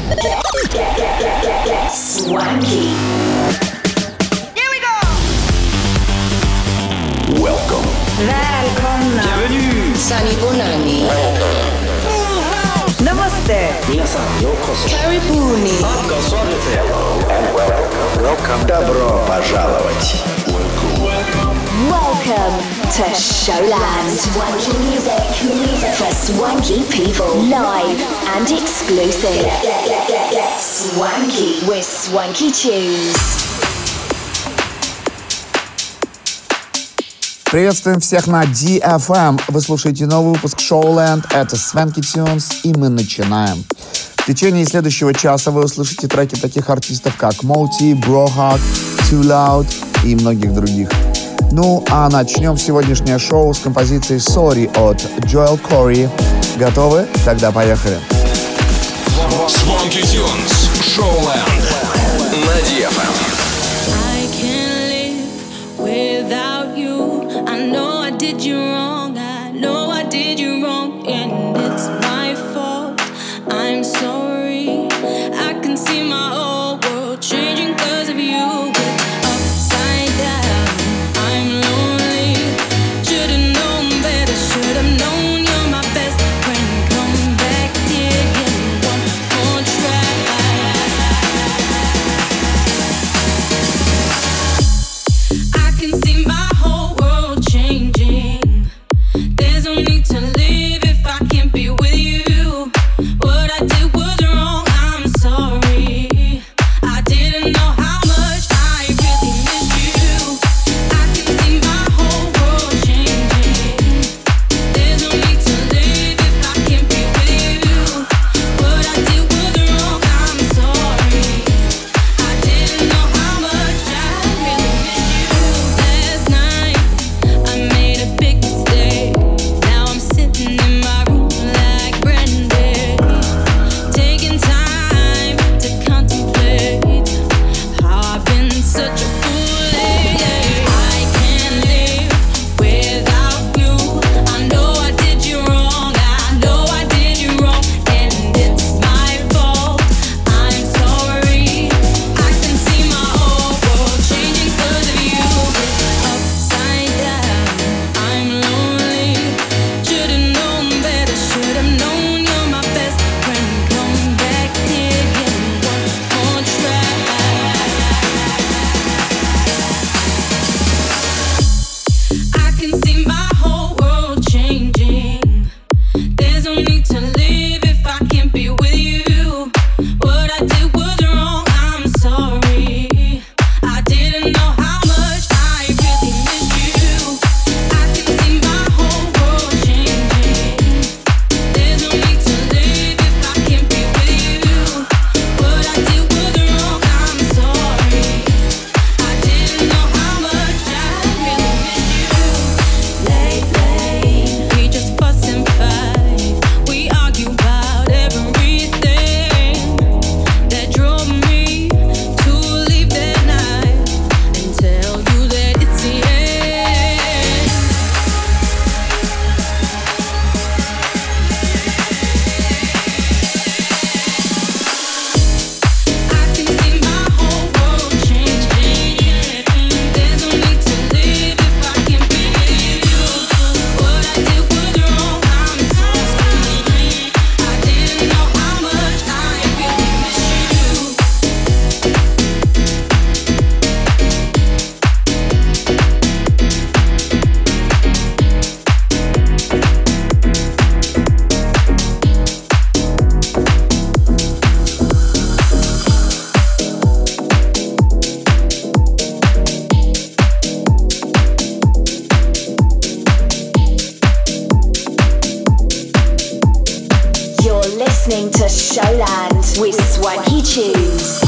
Swanky. Here we go! Welcome. Välkomna. Bienvenue. Sunny Bonani. Namaste. Minasan yokoso. Karibuni. Welcome. Добро пожаловать. Welcome to Showland. Swanky music for swanky people. Live and exclusive. Swanky with Swanky Tunes. Приветствуем всех на DFM. Вы слушаете новый выпуск Showland. Это Swanky Tunes, и мы начинаем. В течение следующего часа вы услышите треки таких артистов, как Moti, Brohawk, Too Loud и многих других. Ну, а начнем сегодняшнее шоу с композицией Sorry от Joel Corey. Готовы? Тогда поехали. Swanky Tunes, Showland на DFM. I can't live without you. I know I did you wrong. I know I did you wrong, and it's my fault. I'm sorry. I can see my whole world changing 'cause of you. But upside down, I'm lonely. Should've known better. Should've known you're my best friend. Come back here again, one more try. I can see my whole world changing. There's no need to live if I can't be with you. What I did was wrong, I'm sorry. I didn't know how much I really missed you. I can see my whole world changing. There's no need to live if I can't be with you. What I did was wrong, I'm sorry. I didn't know how much I really missed you. Last night I made a big mistake. Now I'm sitting in my room like Brandy, taking time to contemplate how I've been such a fool lately. I can't live without you. I know I did you wrong. I know I did you wrong, and it's my fault. I'm sorry. I can see my whole world changing 'cause of you. It's upside down. I'm lonely. Should've known better. Should've known you're my best friend. Come back here again, one more try. I can see my whole world changing. There's no need to live if I can't be with you. What I did was wrong, I'm sorry. I didn't know how much I really missed you. I can see my whole world changing. There's no need to live if I can't be with you. What I did was wrong, I'm sorry. I didn't know how much I really missed you. Lately, we just fuss and fight. We argue about everything that drove me to leave that night and tell you that it's the end. I can see my whole world changing. There's no need to live if I can't be with you. What I did was wrong, I'm sorry. I didn't know how much I really missed you. You're listening to Showland with Swanky Tunes.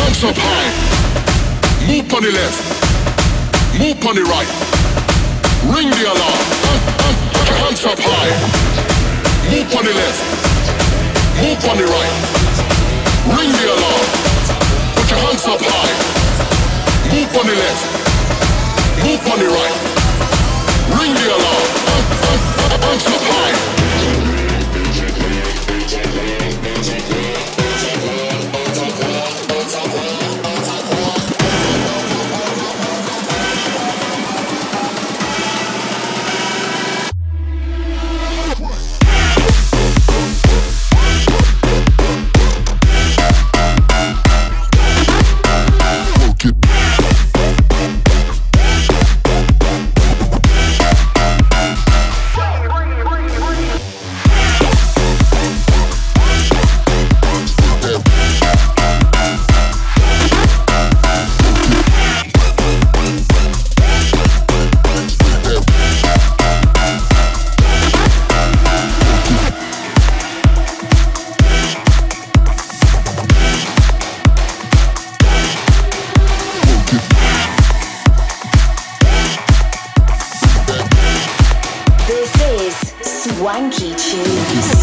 hands up high. Move on the left. Move on the right. Ring the alarm. Put your hands up high. Move on the left. Move on the right. Ring the alarm. Put your hands up high. Move on the left. Move on the right. Ring the alarm. Hands up high. Swanky Tunes.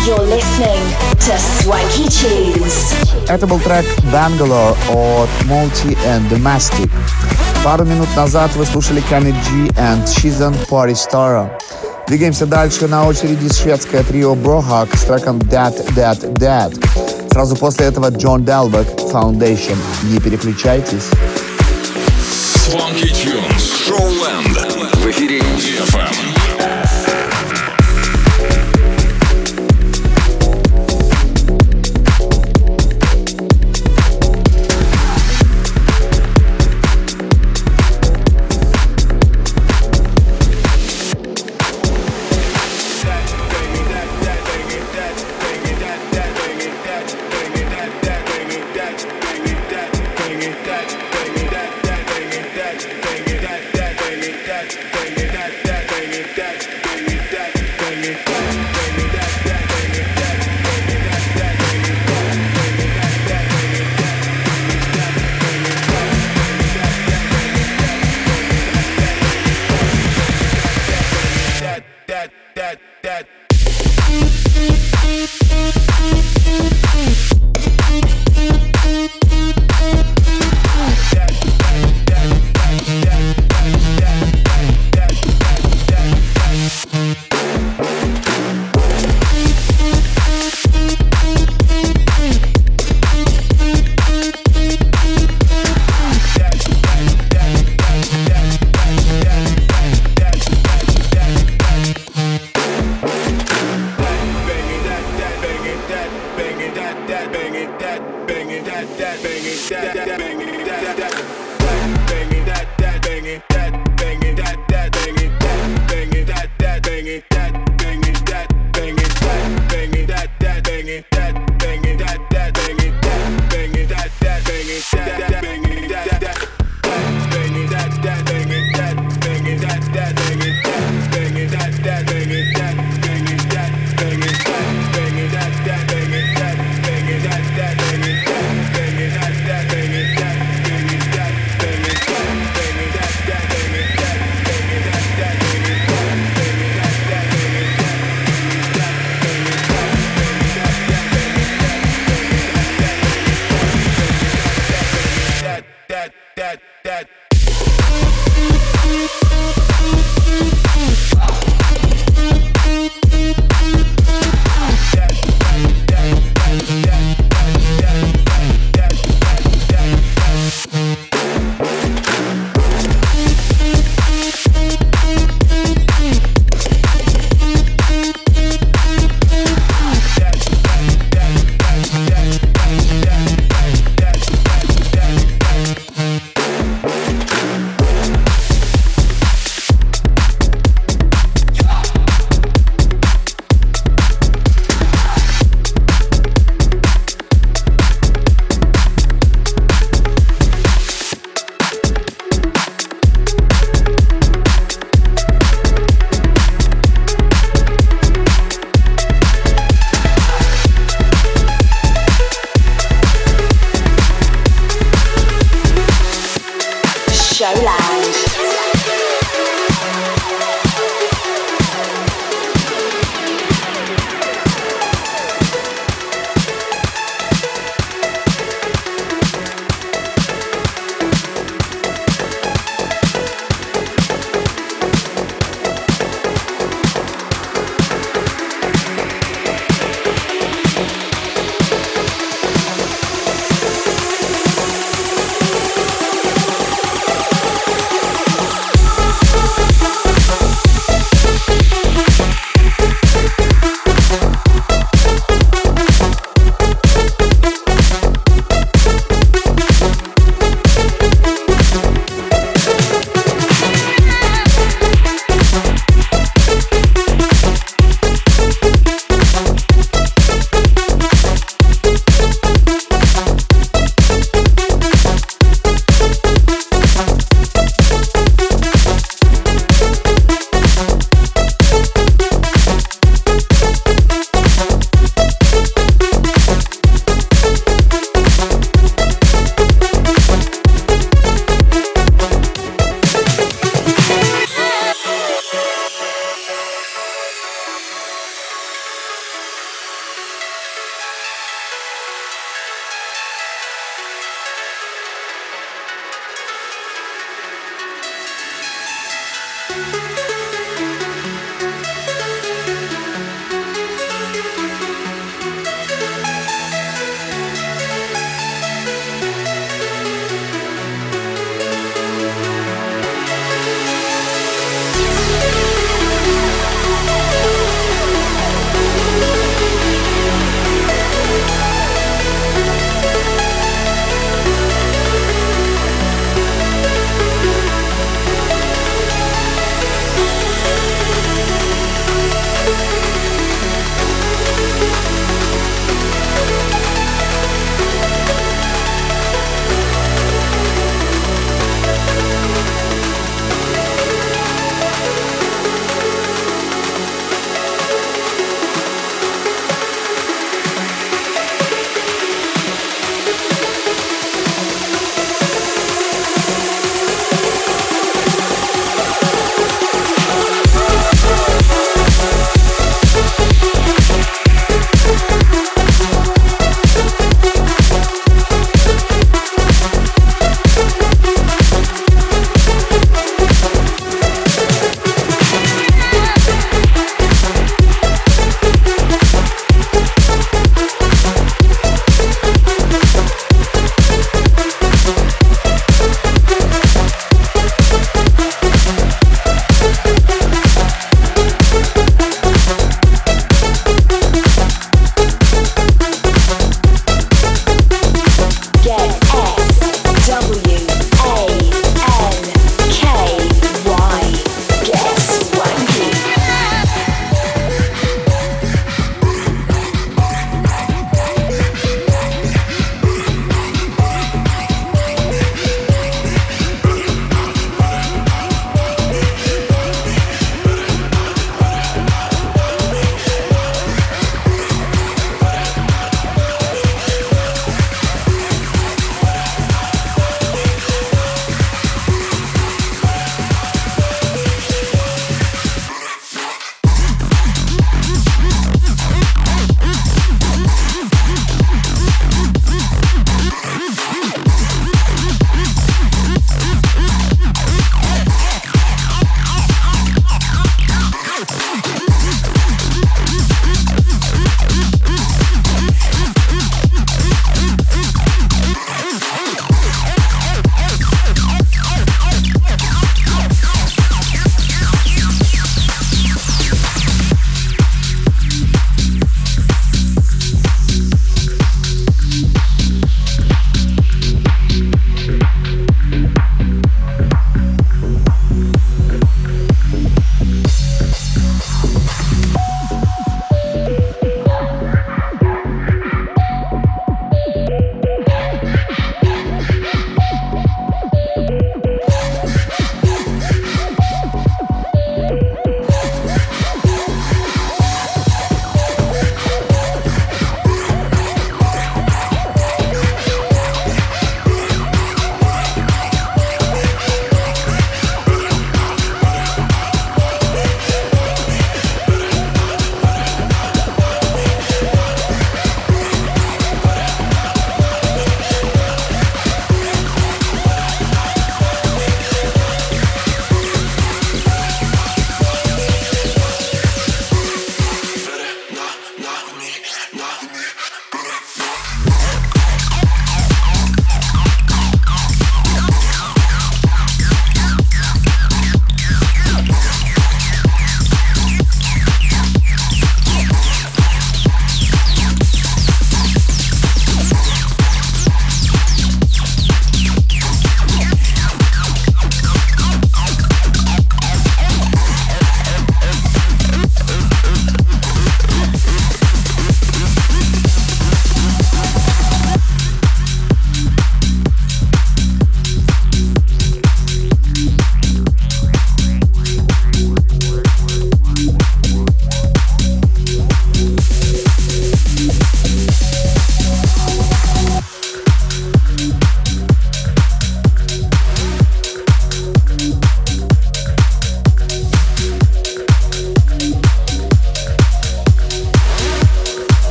You're listening to Swanky Tunes. Это был трек Bangalore от Multi and Domestic. Пару минут назад вы слушали Kenny G and Shizan Party Star. Двигаемся дальше. На очереди шведское трио Brohawk с треком Dead. Сразу после этого John Delvec Foundation. Не переключайтесь. Swanky Tunes. Showland. В эфире DFM.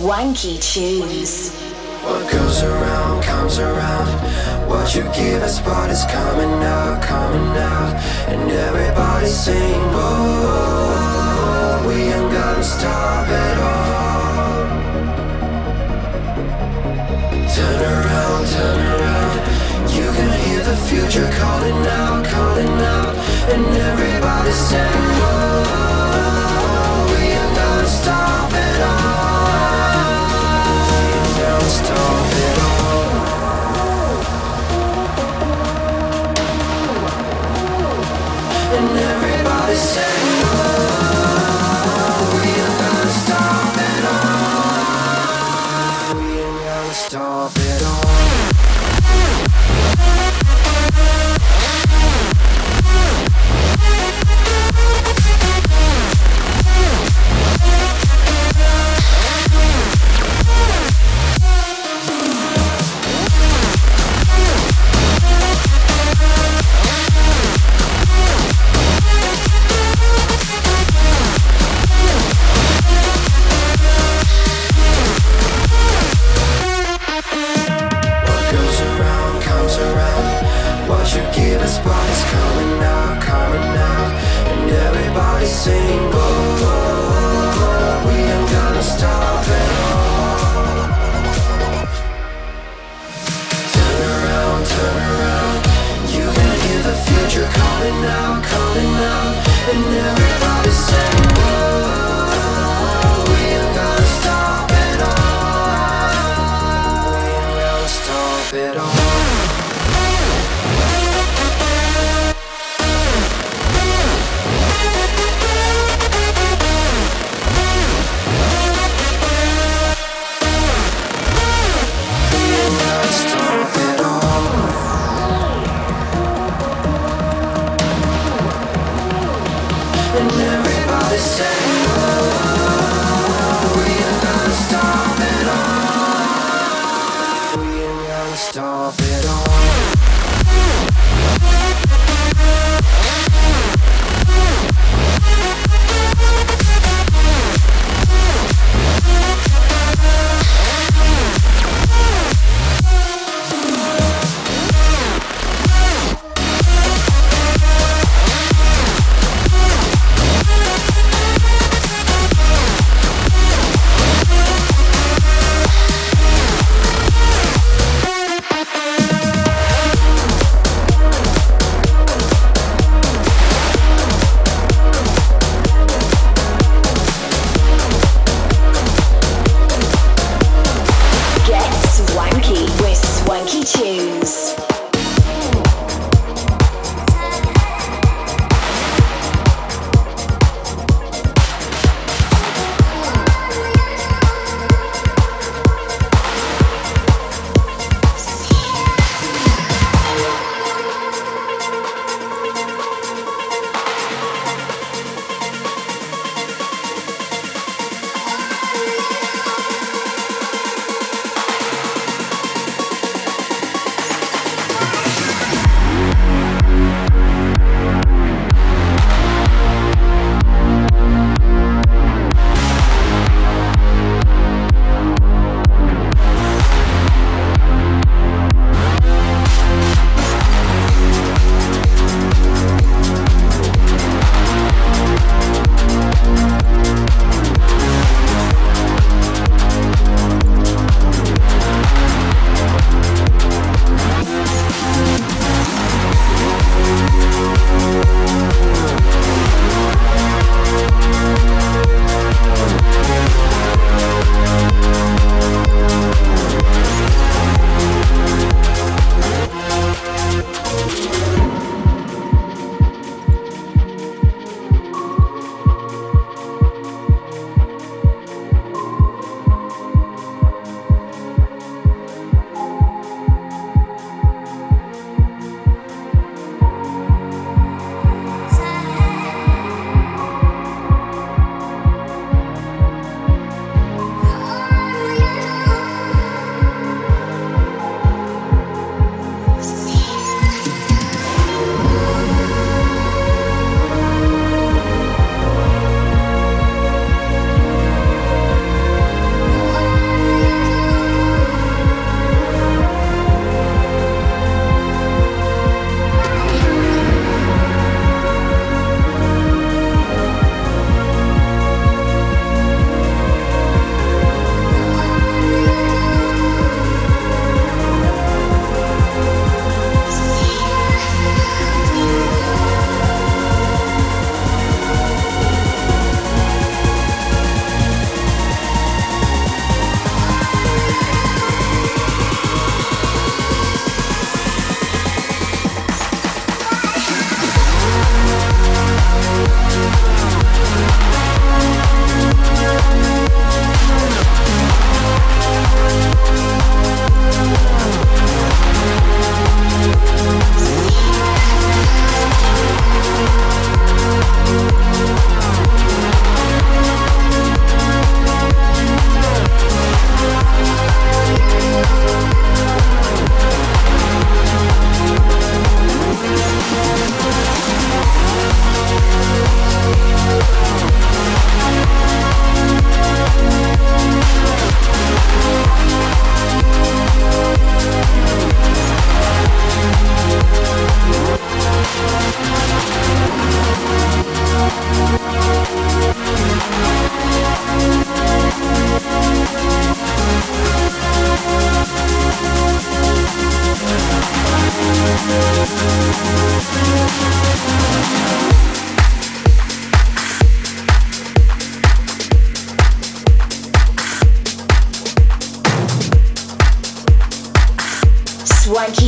Swanky Tunes. What goes around comes around. What you give us, what is coming out, and everybody sing, whoa, we ain't gonna stop at all. Turn around, you can hear the future calling out, and everybody sing, whoa, we ain't gonna stop at all. We ain't gonna stop at all. And everybody saying, oh, we ain't gonna stop it all. We ain't gonna stop it all. You give us what is coming out, and everybody sing, whoa, we ain't gonna stop at all. Turn around, you can hear the future calling out, and everybody sing, whoa, we ain't gonna stop at all. We ain't gonna stop at all. And everybody saying, oh, we ain't gonna stop it all. We ain't gonna stop it all.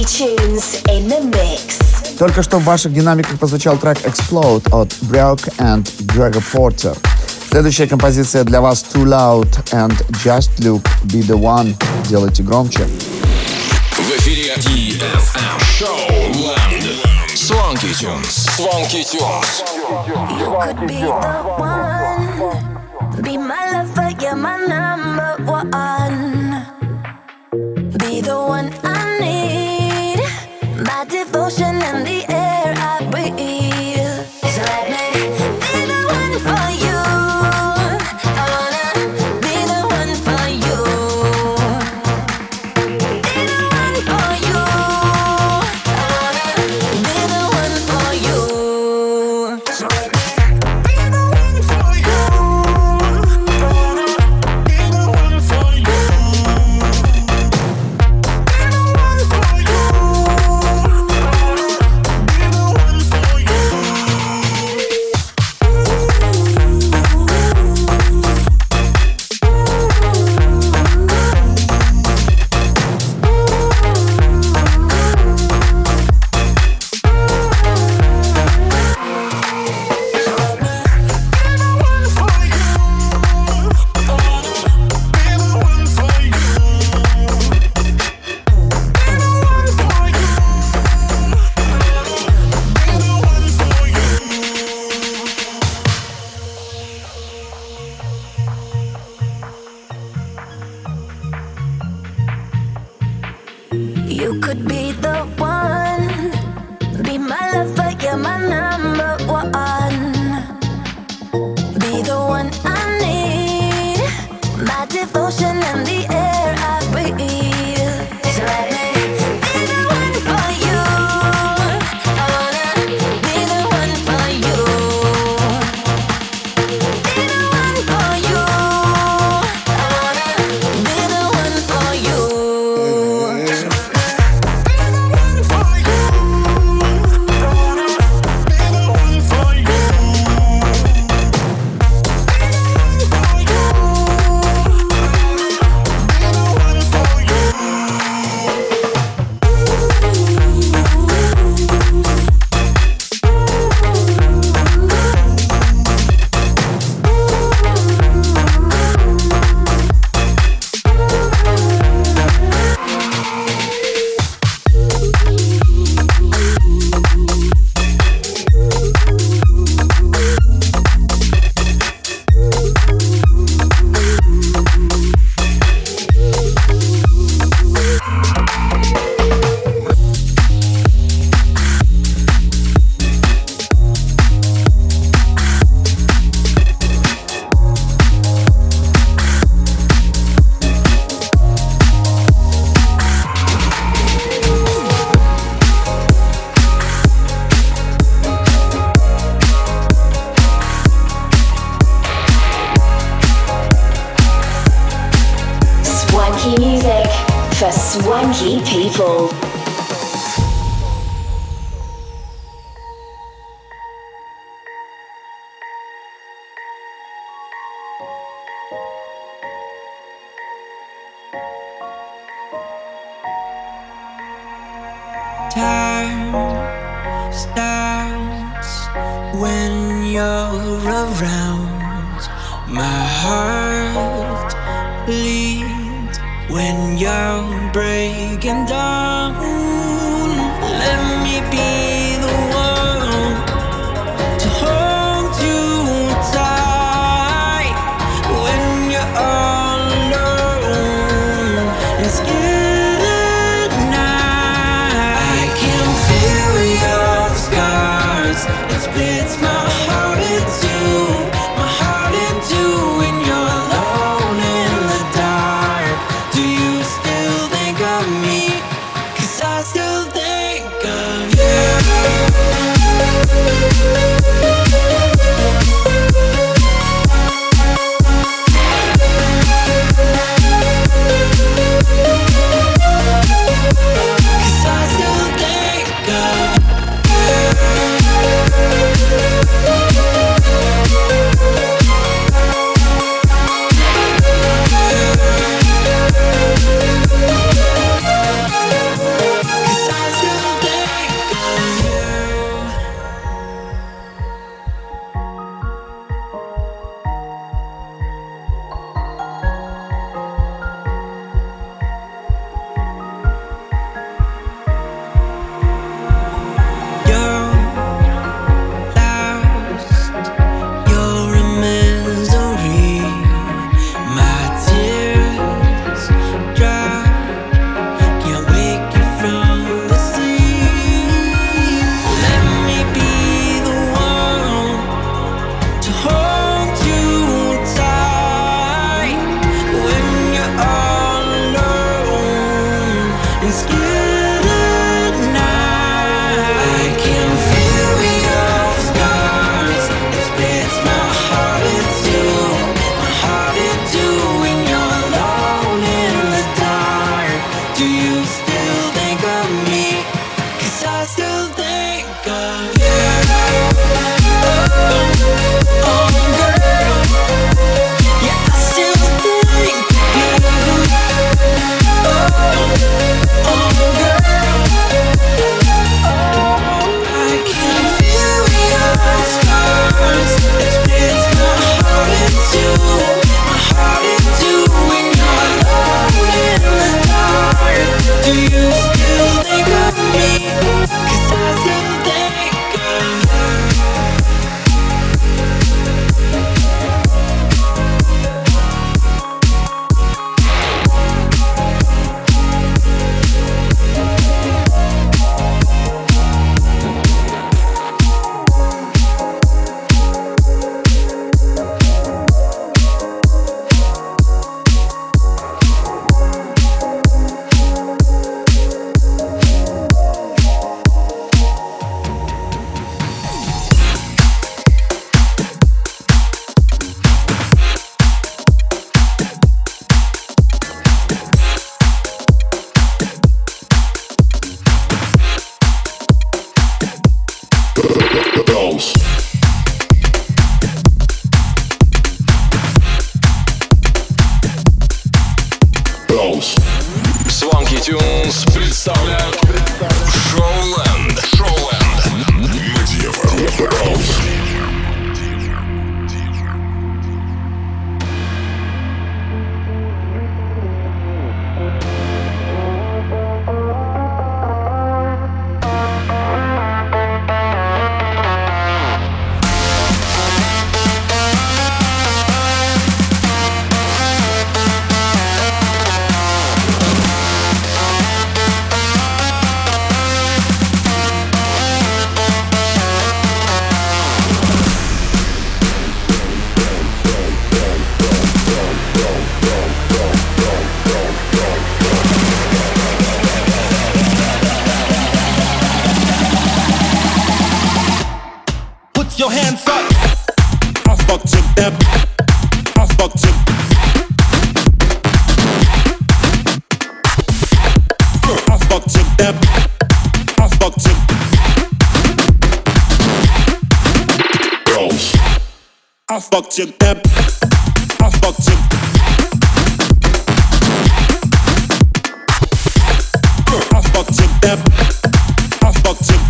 Tunes in the mix. Только что в ваших динамиках прозвучал трек Explode от Brock and Gregor Porter. Следующая композиция для вас Too Loud and Just Look Be The One. Делайте громче. В эфире DFM Showland. Swanky Tunes. Swanky Tunes. You could be the one. Be my lover, you're my number one. Be the one I need. My devotion and the air I breathe. So let me be the one for you. I wanna be the one for you. Be the one for you. I wanna be the one for you. So let me be the one for you. I wanna be the one for you. You could be the one. Be my lover, you're my number one. Be the one I need. My devotion and the air I breathe. So let me be the one for you. I wanna be the one for you. Be the one for you. I wanna be the one for you. Swanky music for swanky people. Time stops when you're around. My heart bleeds when you're breaking down. Let me be the one to hold you tight when you're all alone and scared at night. I can feel your scars. It splits my heart in two, when you're alone in the dark. Do you still think of me? 'Cause I still think of you. Cause I still think of you. Your hands up. I fucked you them. I fucked you. I fucked you them. I fucked you. Girls. I fucked you them. I fucked you. I fucked you them. I fucked you.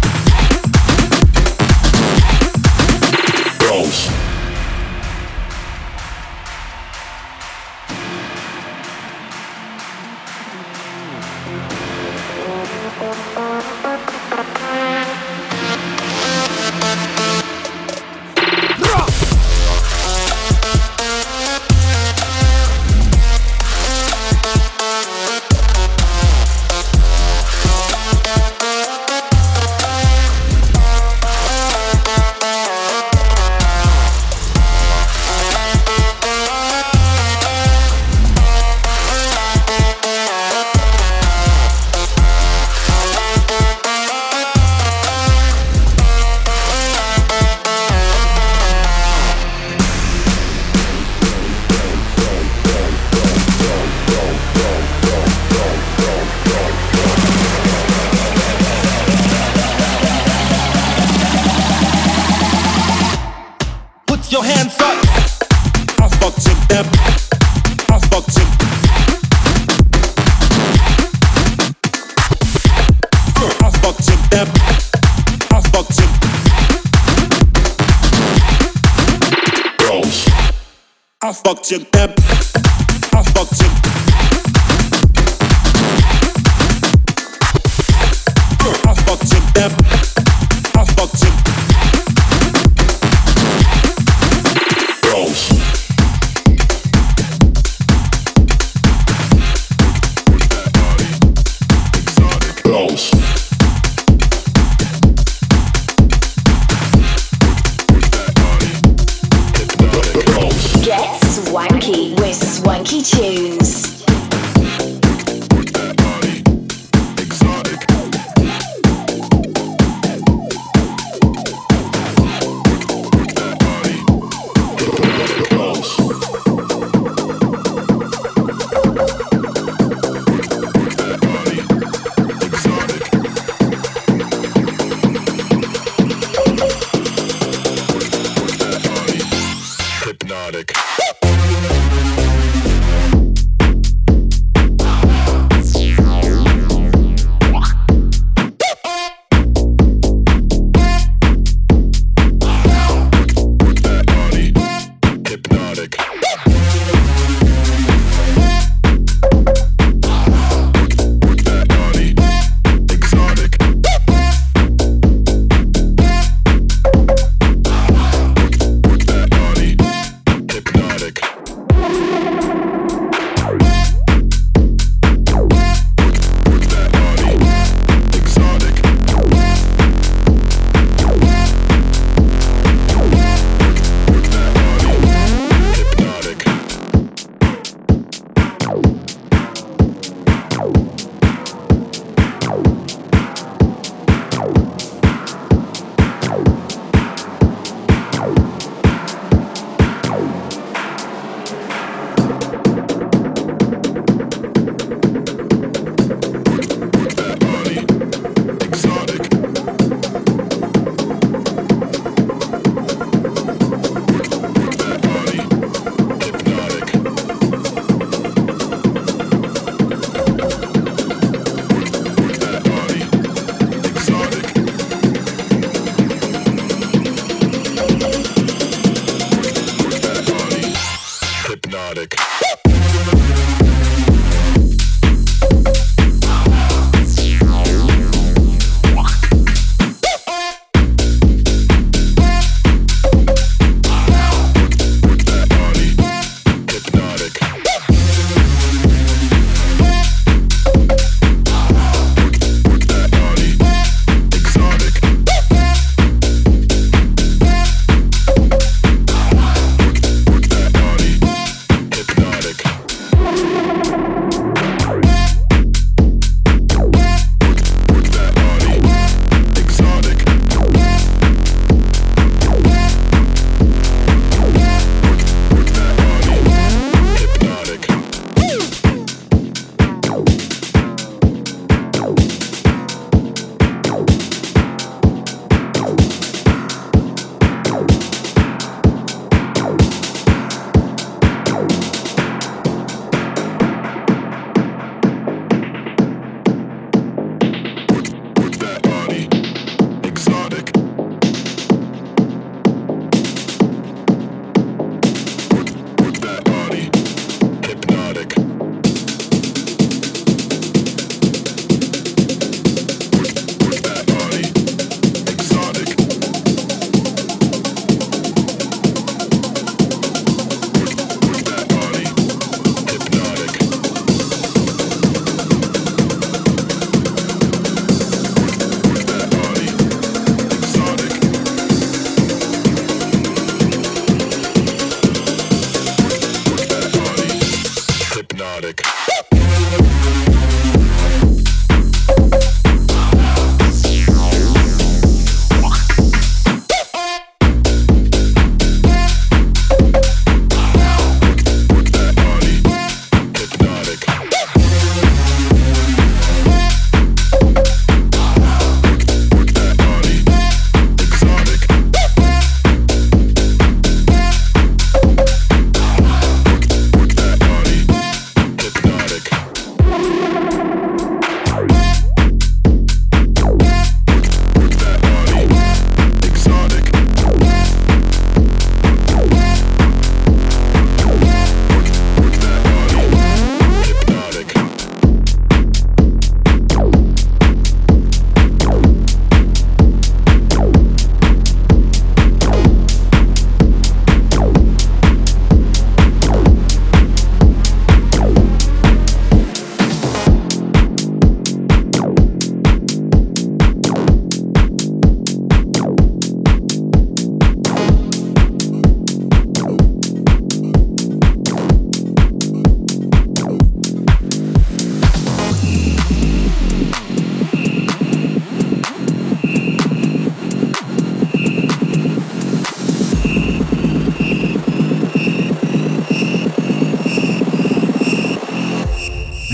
Your hands up. I fucked you them. I fucked you. I fucked you them. I fucked you. Girls. I fucked you them. I fucked you. I fucked you them. I fucked you. Get swanky with Swanky Tunes. Hypnotic.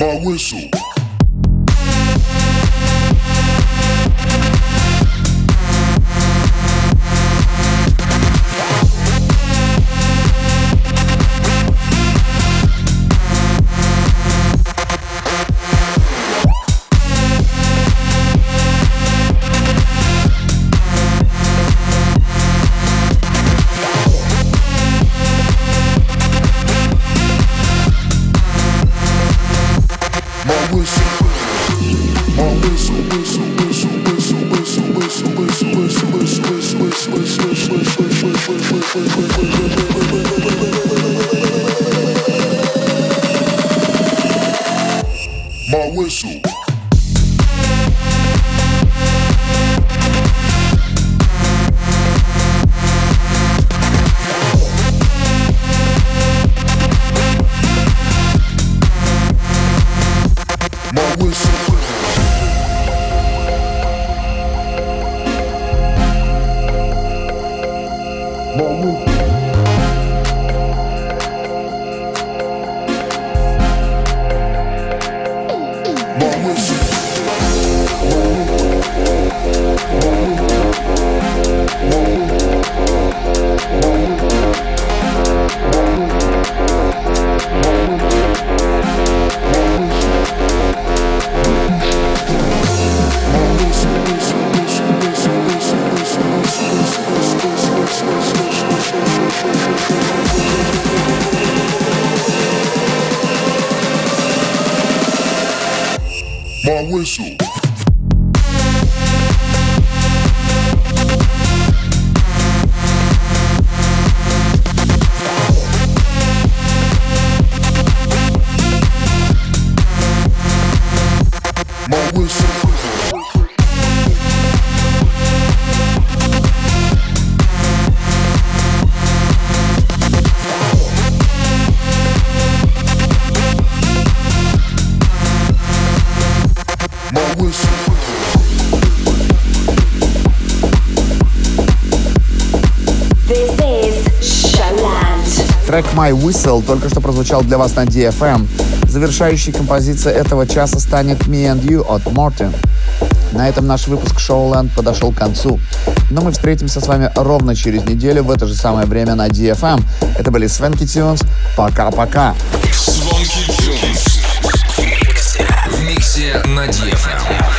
My whistle. My whistle. My whistle. Трек My Whistle только что прозвучал для вас на DFM. Завершающей композицией этого часа станет Me and You от Morten. На этом наш выпуск Showland подошел к концу. Но мы встретимся с вами ровно через неделю в это же самое время на DFM. Это были Swanky Tunes. Пока-пока. Swanky Tunes в миксе на DFM.